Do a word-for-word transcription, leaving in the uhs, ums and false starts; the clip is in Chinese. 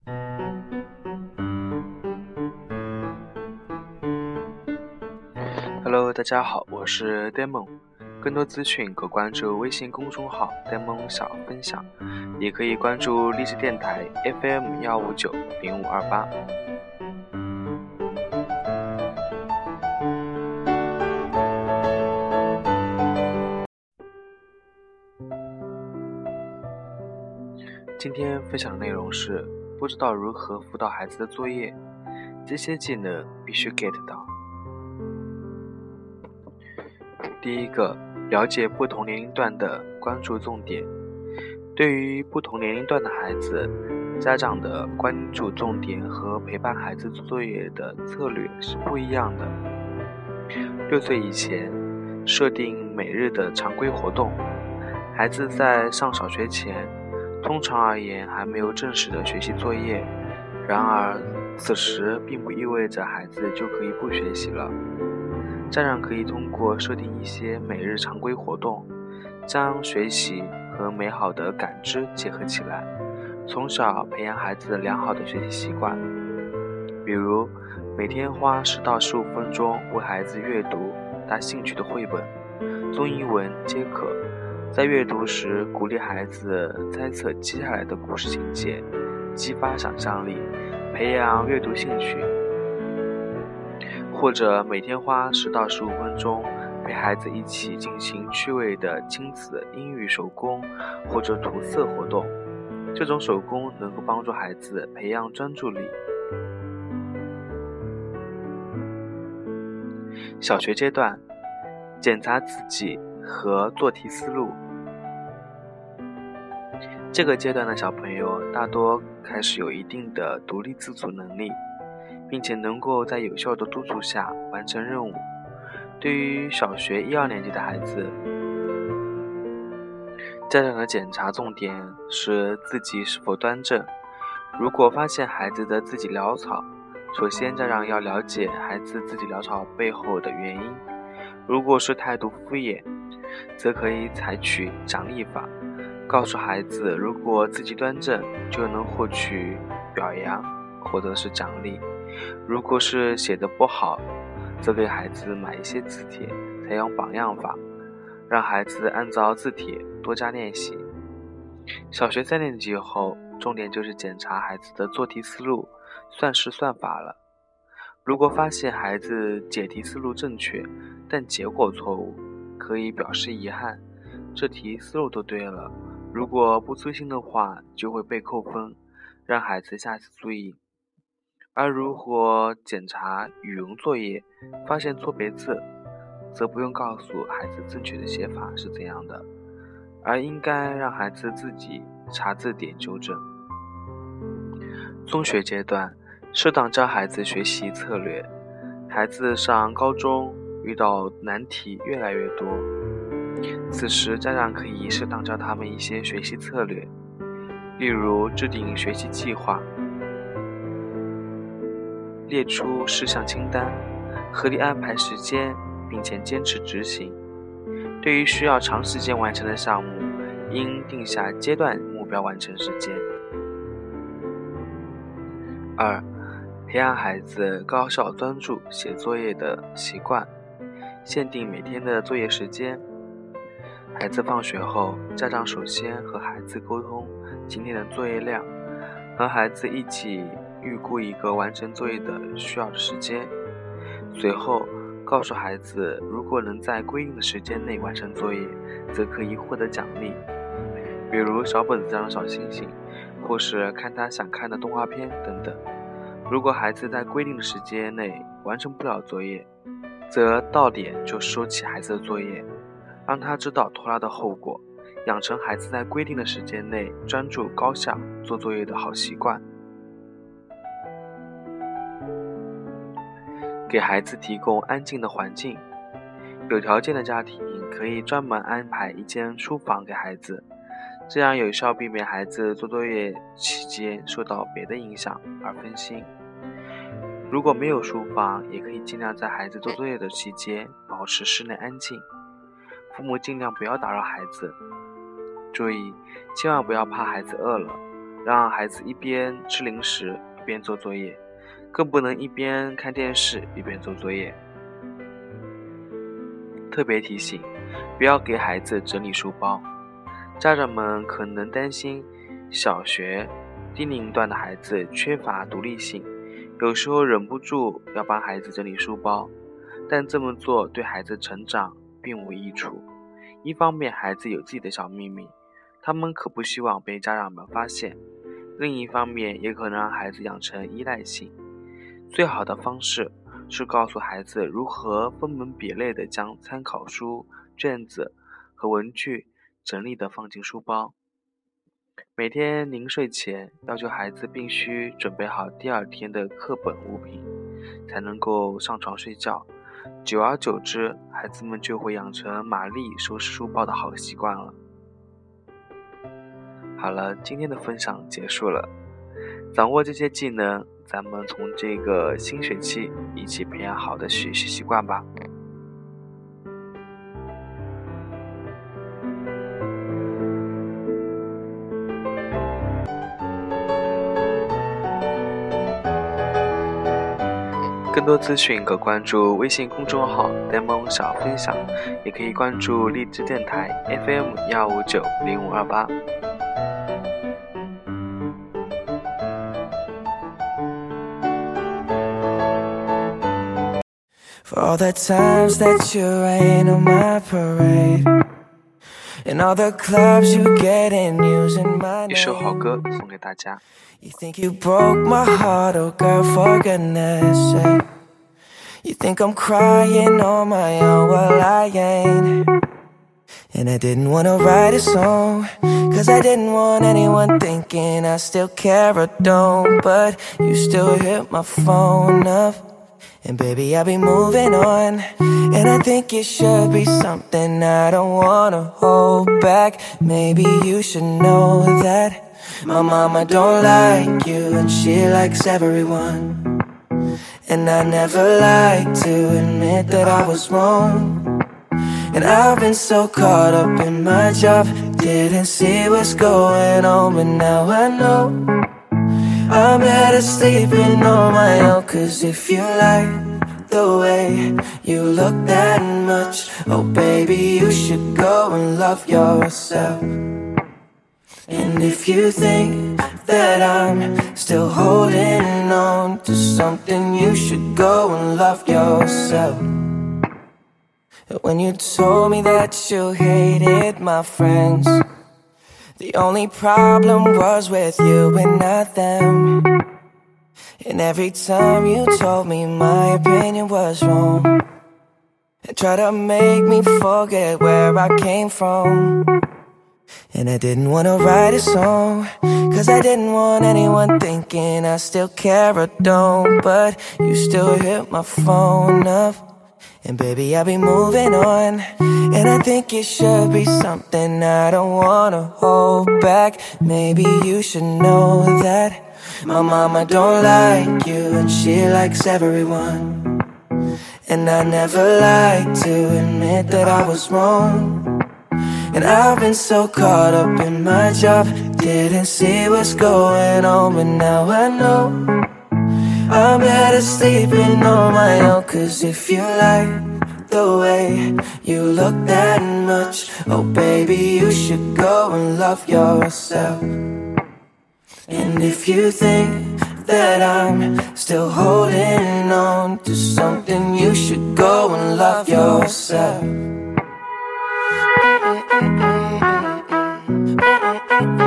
Hello， 大家好，我是 Demon， 更多资讯可关注微信公众号 Demon 小分享，也可以关注励志电台 F M 一五九零五二八。今天分享的内容是不知道如何辅导孩子的作业，这些技能必须 get 到。第一个，了解不同年龄段的关注重点。对于不同年龄段的孩子，家长的关注重点和陪伴孩子做作业的策略是不一样的。六岁以前，设定每日的常规活动。孩子在上小学前，通常而言还没有正式的学习作业，然而此时并不意味着孩子就可以不学习了。家长可以通过设定一些每日常规活动，将学习和美好的感知结合起来，从小培养孩子良好的学习习惯。比如每天花十到十五分钟为孩子阅读他兴趣的绘本、中英文皆可。在阅读时鼓励孩子猜测接下来的故事情节，激发想象力，培养阅读兴趣。或者每天花十到十五分钟陪孩子一起进行趣味的亲子英语手工或者涂色活动，这种手工能够帮助孩子培养专注力。小学阶段，检查自己和做题思路。这个阶段的小朋友大多开始有一定的独立自主能力，并且能够在有效的督促下完成任务。对于小学一二年级的孩子，家长的检查重点是自己是否端正。如果发现孩子的自己潦草，首先家长要了解孩子自己潦草背后的原因。如果是态度敷衍，则可以采取奖励法，告诉孩子如果自己端正就能获取表扬或者是奖励。如果是写得不好，则给孩子买一些字帖，采用榜样法，让孩子按照字帖多加练习。小学三年级后，重点就是检查孩子的做题思路、算式算法了。如果发现孩子解题思路正确，但结果错误，可以表示遗憾，这题思路都对了，如果不粗心的话就会被扣分，让孩子下次注意。而如果检查语文作业发现错别字，则不用告诉孩子正确的写法是怎样的，而应该让孩子自己查字典纠正。中学阶段，适当教孩子学习策略。孩子上高中遇到难题越来越多，此时家长可以适当教他们一些学习策略，例如制定学习计划，列出事项清单，合理安排时间，并且坚持执行。对于需要长时间完成的项目，应定下阶段目标完成时间。二、培养孩子高效专注写作业的习惯，限定每天的作业时间。孩子放学后，家长首先和孩子沟通今天的作业量，和孩子一起预估一个完成作业的需要的时间，随后告诉孩子如果能在规定的时间内完成作业，则可以获得奖励，比如小本子上的小星星，或是看他想看的动画片等等。如果孩子在规定的时间内完成不了作业，则到点就收起孩子的作业，让他知道拖拉的后果，养成孩子在规定的时间内专注高效做作业的好习惯。给孩子提供安静的环境。有条件的家庭可以专门安排一间书房给孩子，这样有效避免孩子做作业期间受到别的影响而分心。如果没有书房，也可以尽量在孩子做作业的期间保持室内安静，父母尽量不要打扰孩子。注意，千万不要怕孩子饿了， 让孩子一边吃零食一边做作业，更不能一边看电视一边做作业。特别提醒，不要给孩子整理书包。家长们可能担心小学低龄段的孩子缺乏独立性，有时候忍不住要帮孩子整理书包，但这么做对孩子成长并无益处。一方面，孩子有自己的小秘密，他们可不希望被家长们发现；另一方面，也可能让孩子养成依赖性。最好的方式是告诉孩子如何分门别类地将参考书、卷子和文具整理地放进书包。每天临睡前，要求孩子必须准备好第二天的课本物品，才能够上床睡觉。久而久之，孩子们就会养成玛丽收拾书包的好习惯了。好了，今天的分享结束了。掌握这些技能，咱们从这个新学期一起培养好的学习习惯吧。更多资讯可关注微信公众号呆萌小分享，也可以关注荔枝电台 F M 一五九零五二八。 For all the times that you rain on my parade, and all the clubs you get in using my name. 一首好歌送给大家。 You think you broke my heart, oh girl, for goodness sake. You think I'm crying on my own, well I ain't. And I didn't wanna write a song, cause I didn't want anyone thinking I still care or don't. But you still hit my phone up, and baby, I'll be moving on. And I think it should be something I don't wanna hold back. Maybe you should know that my mama don't like you, and she likes everyone. And I never like to admit that I was wrong. And I've been so caught up in my job, didn't see what's going on, but now I know I'm better sleeping on my own. Cause if you like the way you look that much, oh baby, you should go and love yourself. And if you think that I'm still holding on to something, you should go and love yourself. When you told me that you hated my friends, the only problem was with you and not them. And every time you told me my opinion was wrong, and tried to make me forget where I came from. And I didn't wanna write a song, cause I didn't want anyone thinking I still care or don't. But you still hit my phone up, and baby, I'll be moving on. And I think it should be something I don't wanna hold back. Maybe you should know that my mama don't like you, and she likes everyone. And I never like to admit that I was wrong. And I've been so caught up in my job, didn't see what's going on, but now I know I'm better sleeping on my own. Cause if you like the way you look that much, oh baby, you should go and love yourself. And if you think that I'm still holding on to something, you should go and love yourself.